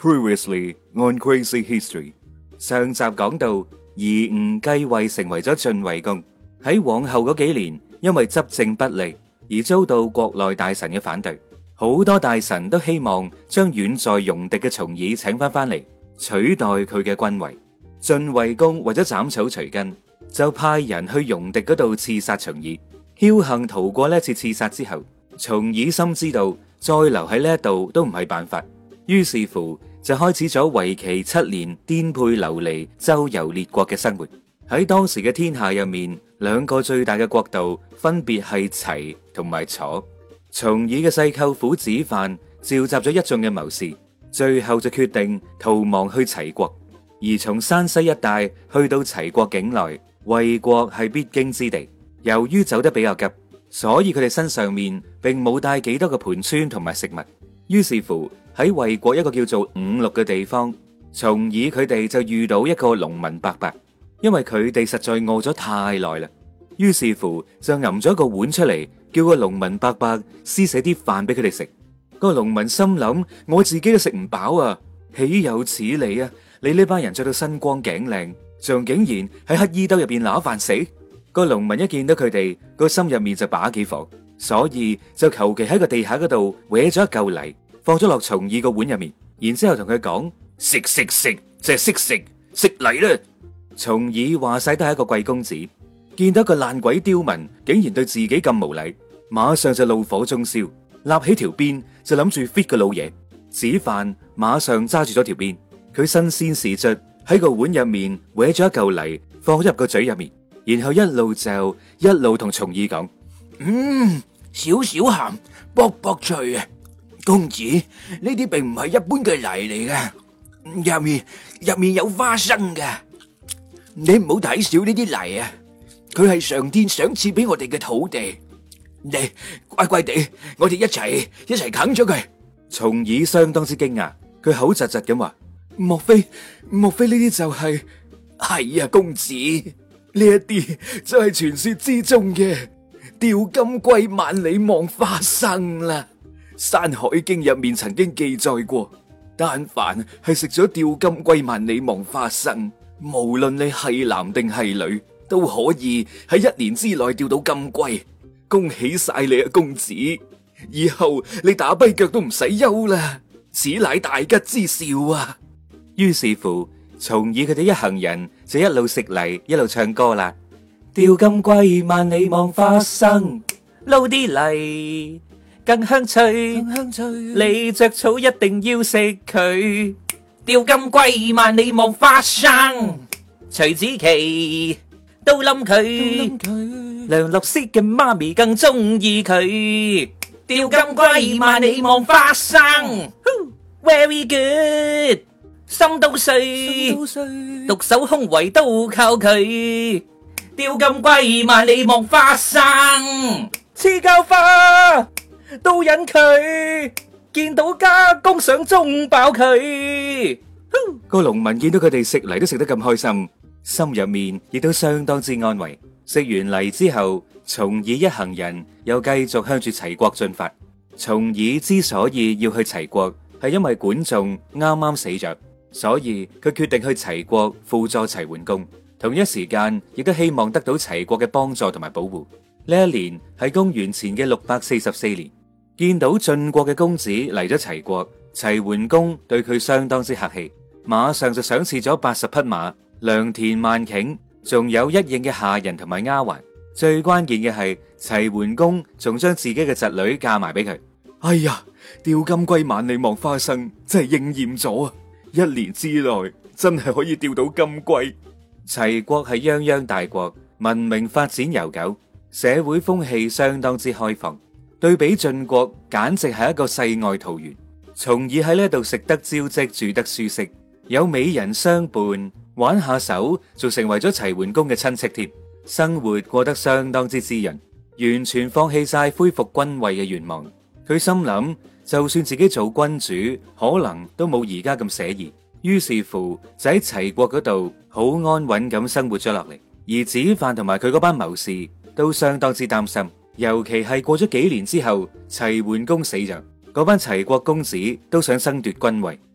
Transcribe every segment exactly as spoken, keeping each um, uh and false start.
Previously on Crazy History， 上集講到夷吾繼位成為咗晉惠公，喺往後嗰幾年，因為執政不力而遭到國內大臣嘅反對，好多大臣都希望將遠在戎狄嘅重耳請翻翻嚟，取代佢嘅君位。晉惠公為咗斬草除根，就派人去戎狄嗰度刺殺重耳。僥倖逃過呢一次刺殺之後，重耳深知道再留喺呢一度都唔係辦法，於是乎就開始咗為期七年顛沛流離、周遊列國嘅生活。喺當時嘅天下入面，兩個最大嘅國度分別係齊同埋楚。重耳嘅細舅父子范召集咗一眾嘅謀士，最後就決定逃亡去齊國。而從山西一帶去到齊國境內，衛國係必經之地。由於走得比較急，所以佢哋身上面並冇帶幾多個盤川同埋食物。於是乎喺衛國一個叫做五鹿嘅地方，重耳佢哋就遇到一個農民伯伯，因為佢哋實在餓咗太耐啦。於是乎就揞咗一個碗出嚟，叫個農民伯伯施捨啲飯俾佢哋食。個農民心諗：我自己都食唔飽啊，豈有此理啊！你呢班人着到身光頸靚，仲竟然喺乞衣兜入邊攞飯食。個農民一見到佢哋，個心入面就把幾火，所以就求其喺個地下嗰度搲咗一嚿泥，放咗落重耳個碗入面，然之後同佢講：食食食，就係識食，食泥啦！重耳話晒都係一個貴公子，見到個爛鬼刁民竟然對自己咁無禮，馬上就怒火中燒，立起條鞭就諗住 fit 個老爺。子范馬上揸住咗條鞭，佢身先士卒喺個碗入面搲咗一嚿泥，放咗入個嘴入面。然後一路就一路同重耳講：嗯，少少鹹，卜卜脆啊！公子，呢啲並唔係一般嘅泥嚟噶，入面入面有花生噶。你唔好睇小呢啲泥啊，佢係上天賞賜俾我哋嘅土地。你乖乖地，我哋一齊一齊啃咗佢。重耳相當之驚訝，佢口窒窒咁話：莫非莫非呢啲就係係啊，公子。呢一啲就係傳說之中嘅吊金龜萬里望花生啦。山海經入面曾經記載過，但凡係食咗吊金龜萬里望花生，無論你係男定係女，都可以喺一年之內釣到金龜。恭喜晒你啊，公子！以後你打跛腳都唔使憂啦，此乃大吉之兆啊！於是乎，重耳佢哋一行人就一路食泥一路唱歌啦。吊金龜萬里望花生，撈啲泥更香脆，更香脆。你着草一定要食佢。吊金龜萬里望花生，徐子淇都冧佢，梁洛施嘅媽咪更中意佢。吊金龜萬里望花生 ，very good。心都碎，獨守空圍都靠佢。吊金龜萬里望花生，黐膠花都引佢。見到家公想中爆佢。個農民見到佢哋食泥都食得咁開心，心入面亦都相當之安慰。食完泥之後，重耳一行人又繼續向住齊國進發。重耳之所以要去齊國，係因為管仲啱啱死咗。所以佢決定去齊國輔助齊桓公，同一時間亦都希望得到齊國嘅幫助同埋保護。呢一年係公元前嘅六百四十四年，見到晉國嘅公子嚟咗齊國，齊桓公對佢相當之客氣，馬上就賞賜咗八十匹馬、良田萬頃，仲有一應嘅下人同埋丫鬟。最關鍵嘅係齊桓公仲將自己嘅侄女嫁埋俾佢。哎呀，吊金龜萬里望花生真係應驗咗啊！一年之內真係可以釣到金龜。齊國係泱泱大國，文明發展悠久，社會風氣相當之開放。對比晉國，簡直係一個世外桃源。重耳喺呢度食得招積，住得舒適，有美人相伴，玩下手，仲成為咗齊桓公嘅親戚添。生活過得相當之滋潤，完全放棄晒恢復君位嘅願望。佢心諗，就算自己做君主，可能都冇而家咁寫意。於是乎，就喺齊國嗰度好安穩咁生活咗落嚟。而子范同埋佢嗰班謀士都相當之擔心，尤其係過咗幾年之後，齊桓公死咗，嗰班齊國公子都想爭奪君位，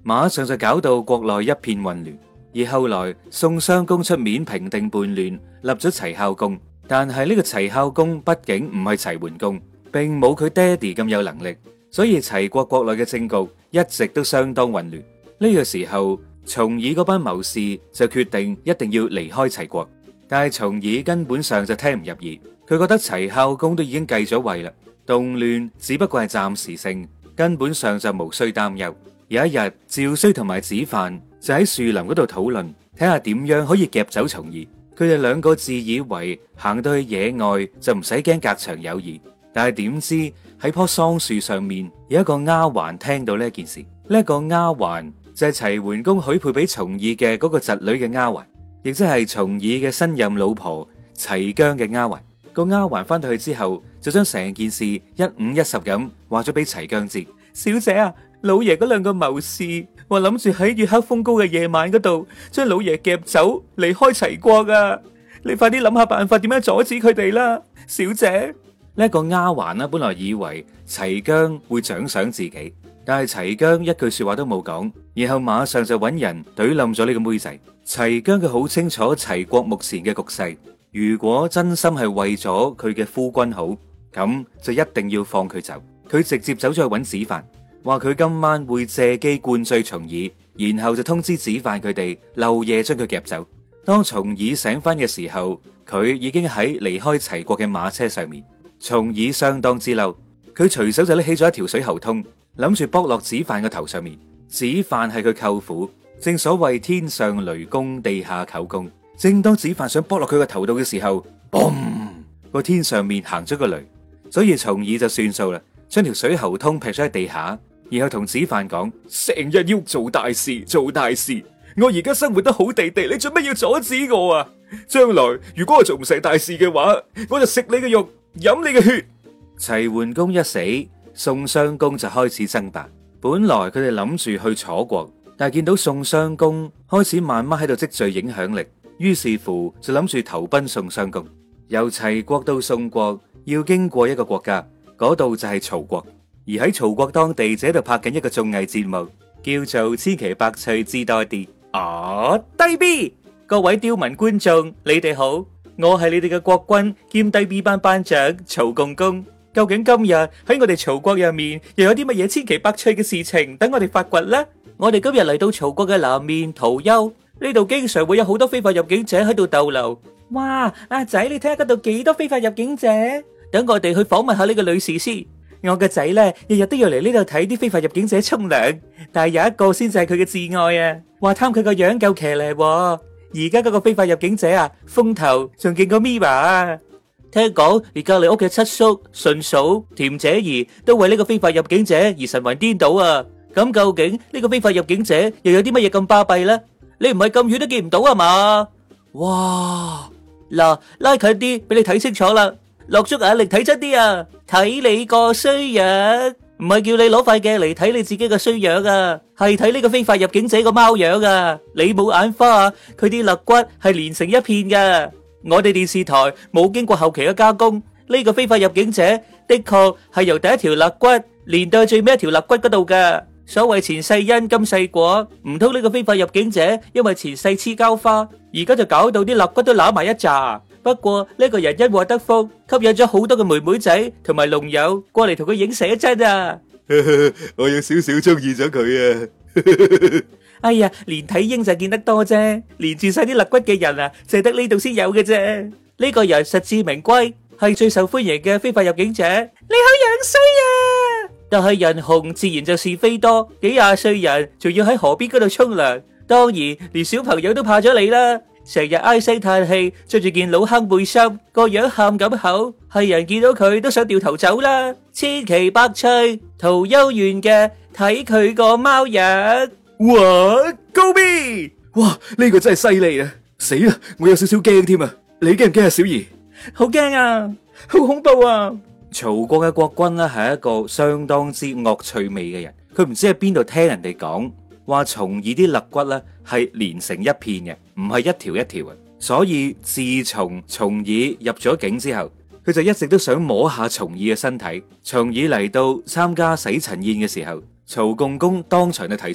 馬上就搞到國內一片混亂。而後來宋襄公出面平定叛亂，立咗齊孝公。但係呢個齊孝公畢竟唔係齊桓公，並冇佢爹哋咁有能力，所以齊國國內嘅政局一直都相當混亂。呢個時候，重耳嗰班謀士就決定一定要離開齊國。但係重耳根本上就聽唔入耳，佢覺得齊孝公都已經繼咗位啦，動亂只不過係暫時性，根本上就無需擔憂。有一日，趙衰同埋子犯就喺樹林嗰度討論，睇下點樣可以夾走重耳。佢哋兩個自以為行到去野外就唔使驚隔牆有耳，但係點知喺棵桑樹上面有一個丫鬟聽到呢件事。呢一個丫鬟就係齊桓公許配俾重耳嘅嗰個侄女嘅丫鬟，亦即係重耳嘅新任老婆齊姜嘅丫鬟。個丫鬟翻到去之後，就將成件事一五一十咁話咗俾齊姜知。小姐啊，老爺嗰兩個謀士話諗住喺月黑風高嘅夜晚嗰度將老爺夾走離開齊國啊！你快啲諗下辦法，點樣阻止佢哋啦，小姐。呢一個丫鬟呢，本來以為齊姜會獎賞自己，但係齊姜一句說話都冇講，然後馬上就揾人懟冧咗呢個妹仔。齊姜佢好清楚齊國目前嘅局勢，如果真心係為咗佢嘅夫君好，咁就一定要放佢走。佢直接走咗去揾子犯，話佢今晚會借機灌醉重耳，然後就通知子犯佢哋漏夜將佢夾走。當重耳醒翻嘅時候，佢已經喺離開齊國嘅馬車上面。重耳相當之嬲，佢隨手就拎起咗一條水喉通，諗住剝落子犯嘅頭上面。子犯係佢舅父，正所謂天上雷公，地下舅公。正當子犯想剝落佢個頭度嘅時候，嘣，個天上面行咗個雷，所以重耳就算數啦，將條水喉通劈咗喺地下，然後同子犯講：成日要做大事，做大事，我而家生活得好地地，你做咩要阻止我啊？將來如果我做唔成大事嘅話，我就食你嘅肉，飲你嘅血。齊桓公一死，宋襄公就開始爭霸。本來佢哋諗住去楚國，但係見到宋襄公開始慢慢喺度積聚影響力，於是乎就諗住投奔宋襄公。由齊國到宋國要經過一個國家，嗰度就係曹國。而喺曹國當地就喺度拍緊一個綜藝節目，叫做千奇百趣知多啲。啊，低 B， 各位刁民觀眾，你哋好。我係你哋嘅國君兼低 B 班班長曹共公，究竟今日喺我哋曹國入面又有啲乜嘢千奇百趣嘅事情等我哋發掘呢？我哋今日嚟到曹國嘅南面陶丘，呢度經常會有好多非法入境者喺度逗留。哇，阿仔，你睇下嗰度幾多非法入境者？等我哋去訪問下呢個女士先。我個仔咧日日都要嚟呢度睇啲非法入境者沖涼，但係有一個先至係佢嘅摯愛啊，話貪佢個樣夠騎呢。而家嗰個非法入境者啊，風頭仲勁過 Miva 啊！聽講而隔籬屋嘅七叔、順嫂、甜姐兒都為呢個非法入境者而神魂顛倒啊！咁究竟呢個非法入境者又有啲乜嘢咁巴閉咧？你唔係咁遠都見唔到啊嘛？哇！嗱，拉近啲俾你睇清楚啦，落足眼力睇真啲啊！睇你個衰樣，唔係叫你攞塊鏡嚟睇你自己個衰樣啊，係睇呢個非法入境者個貓樣啊！你冇眼花啊？佢啲肋骨係連成一片噶。我哋電視台冇經過後期嘅加工，呢個非法入境者的確係由第一條肋骨連到最尾一條肋骨嗰度噶。所謂前世因今世果，唔通呢個非法入境者因為前世黐膠花，而家就搞到啲肋骨都揦埋一紮。不過呢個人因禍得福，吸引咗好多嘅妹妹仔同埋龍友過嚟同佢影寫真啊！ 我有少少中意咗佢啊！ 哎呀，連體嬰就見得多啫，連住晒啲肋骨嘅人啊，就係得呢度先有嘅啫。呢個人實至名歸，係最受歡迎嘅非法入境者。你好樣衰啊！但係人紅自然就是非多，幾廿歲人仲要喺河邊嗰度沖涼，當然連小朋友都怕咗你啦。成日唉聲嘆氣，着住件老坑背心，個樣喊咁口，係人見到佢都想掉頭走啦。千奇百趣，陶丘縣嘅睇佢個貓樣。 哇，高 B！ 哇，呢個真係犀利啊！死啦，我有少少驚添啊！你驚唔驚啊，小儀？ 好驚啊，好恐怖啊！曹國嘅國君呢係一個相當之惡趣味嘅人，佢唔知喺邊度聽人哋講話重耳啲肋骨咧係連成一片嘅，唔係一條一條嘅。所以自從重耳入咗境之後，佢就一直都想摸下重耳嘅身體。重耳嚟到參加洗塵宴嘅時候，曹共公當場就提出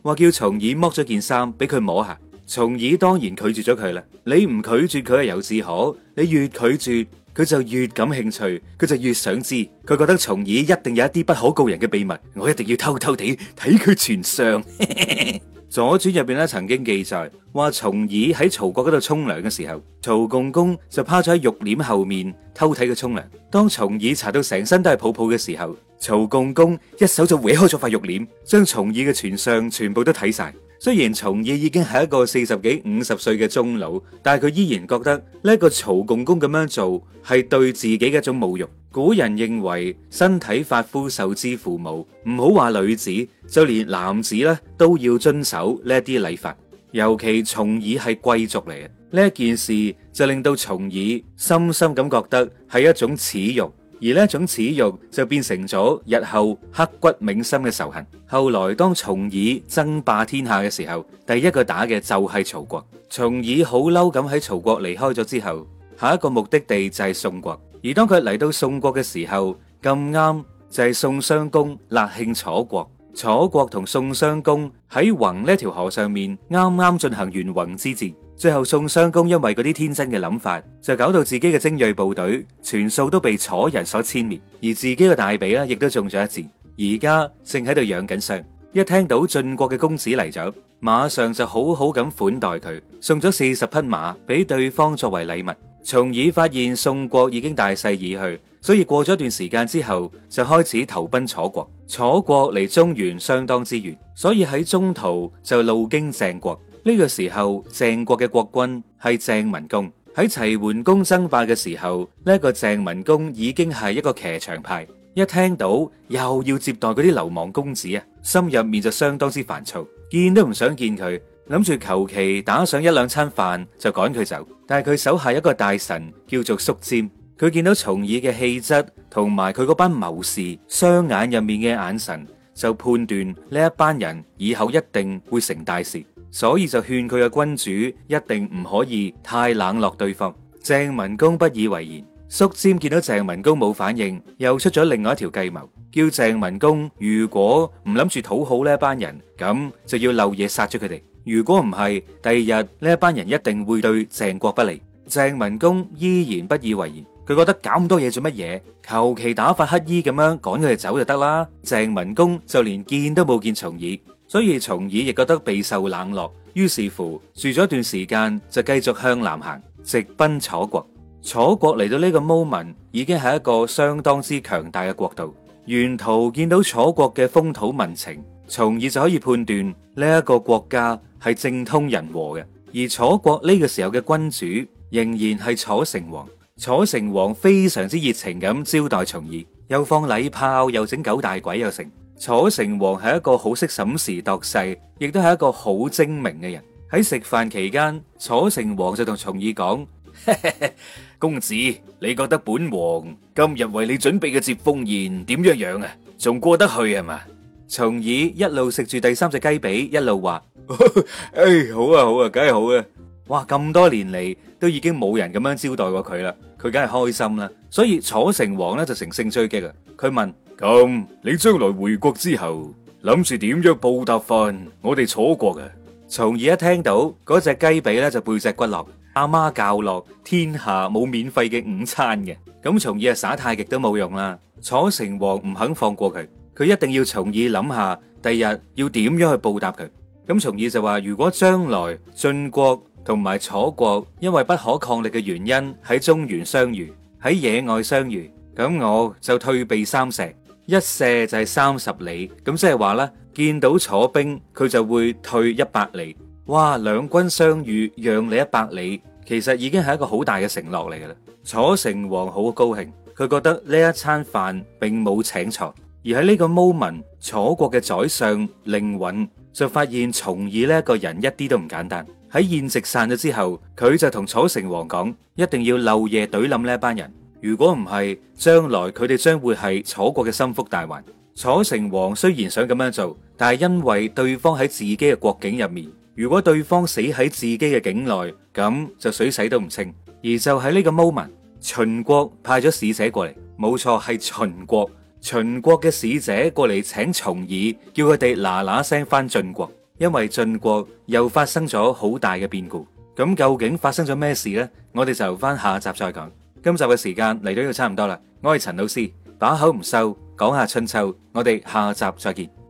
話叫重耳剝咗件衫俾佢摸下。重耳當然拒絕咗佢啦。你唔拒絕佢係由自可，你越拒絕佢就越感興趣，佢就越想知。佢覺得重耳一定有一啲不可告人嘅秘密，我一定要偷偷地睇佢全相。左傳入邊咧曾經記載話，重耳喺曹國嗰度沖涼嘅時候，曹共公就趴咗喺浴簾後面偷睇佢沖涼。當重耳查到成身都係泡泡嘅時候，曹共公一手就搲開咗塊浴簾，將重耳嘅全相全部都睇晒。雖然重耳已經係一個四十幾五十歲嘅中老，但係佢依然覺得呢一個曹共公咁樣做係對自己嘅一種侮辱。古人認為身體髮膚受之父母，唔好話女子，就連男子咧都要遵守呢一啲禮法。尤其重耳係貴族嚟嘅，呢一件事就令到重耳深深咁覺得係一種恥辱。而呢一種恥辱就變成咗日後刻骨銘心嘅仇恨。後來當重耳爭霸天下嘅時候，第一個打嘅就係曹國。重耳好嬲咁喺曹國離開咗之後，下一個目的地就係宋國。而當佢嚟到宋國嘅時候，咁啱就係宋襄公勒慶楚國。楚國同宋襄公喺泓呢條河上面啱啱進行完泓之戰。最後宋襄公因為嗰啲天真嘅諗法，就搞到自己嘅精銳部隊全數都被楚人所殲滅，而自己嘅大髀咧亦都中咗一箭，而家正喺度養緊傷。一聽到晉國嘅公子嚟咗，馬上就好好咁款待佢，送咗四十匹馬俾對方作為禮物。重耳發現宋國已經大勢已去，所以過咗一段時間之後，就開始投奔楚國。楚國離中原相當之遠，所以喺中途就路經鄭國。呢個時候，鄭國嘅國君係鄭文公。喺齊桓公爭霸嘅時候，呢一個鄭文公已經係一個騎牆派。一聽到又要接待嗰啲流氓公子啊，心入面就相當之煩躁，見都唔想見佢，諗住求其打上一兩餐飯就趕佢走。但係佢手下一個大臣叫做叔詹，佢見到重耳嘅氣質同埋佢嗰班謀士雙眼入面嘅眼神，就判斷呢一班人以後一定會成大事。所以就勸佢嘅君主一定唔可以太冷落對方。鄭文公不以為然，叔詹見到鄭文公冇反應，又出咗另外一條計謀，叫鄭文公如果唔諗住討好呢一班人，咁就要漏夜殺咗佢哋。如果唔係，第二日呢一班人一定會對鄭國不利。鄭文公依然不以為然，佢覺得搞咁多嘢做乜嘢？求其打發乞衣咁樣趕佢哋走就得啦。鄭文公就連見都冇見重耳。所以重耳亦覺得備受冷落，於是乎住咗一段時間就繼續向南行，直奔楚國。楚國嚟到呢個 moment 已經係一個相當之強大嘅國度，沿途見到楚國嘅風土民情，從而就可以判斷呢一個國家係政通人和嘅。而楚國呢個時候嘅君主仍然係楚成王，楚成王非常之熱情咁招待重耳，又放禮炮，又整九大簋又成。楚成王係一個好識審時度勢，亦都係一個好精明嘅人。喺食飯期間，楚成王就同重耳講：公子，你覺得本王今日為你準備嘅接風宴點樣樣啊？仲過得去係嘛？重耳一路食住第三隻雞髀，一路話：誒，好啊好啊，梗係好啊！哇，咁多年嚟都已經冇人咁樣招待過佢啦，佢梗係開心啦。所以楚成王咧就乘勝追擊啊！佢問：咁你將來回國之後，諗住點樣報答翻我哋楚國啊？重耳一聽到嗰隻雞髀咧就背脊骨落，阿媽教落天下冇免費嘅午餐嘅。咁重耳啊耍太極都冇用啦。楚成王唔肯放過佢，佢一定要重耳諗下第日要點樣去報答佢。咁重耳就話：如果將來晉國同埋楚國因為不可抗力嘅原因喺中原相遇，喺野外相遇，咁我就退避三舍，一舍就係三十里，咁即係話咧，見到楚兵佢就會退一百里。哇，兩軍相遇讓你一百里，其實已經係一個好大嘅承諾嚟噶啦。楚成王好高興，佢覺得呢一餐飯並冇請錯。而喺呢個 moment，楚國嘅宰相令尹就發現重耳呢一個人一啲都唔簡單。喺宴席散咗之後，佢就同楚成王講，一定要漏夜懟冧呢一班人。如果唔係，將來佢哋將會係楚國嘅心腹大患。楚成王雖然想咁樣做，但係因為對方喺自己嘅國境入面，如果對方死喺自己嘅境內，咁就水洗都唔清。而就喺呢個 moment，秦國派咗使者過嚟，冇錯係秦國。秦國嘅使者過嚟請重耳，叫佢哋嗱嗱聲翻晉國。 因為晉國又發生咗好大嘅變故。咁究竟發生咗咩事呢？我哋就留翻下集再講。今集嘅時間嚟到呢度差唔多啦。我係陳老師，把口唔收，講下春秋。我哋下集再見。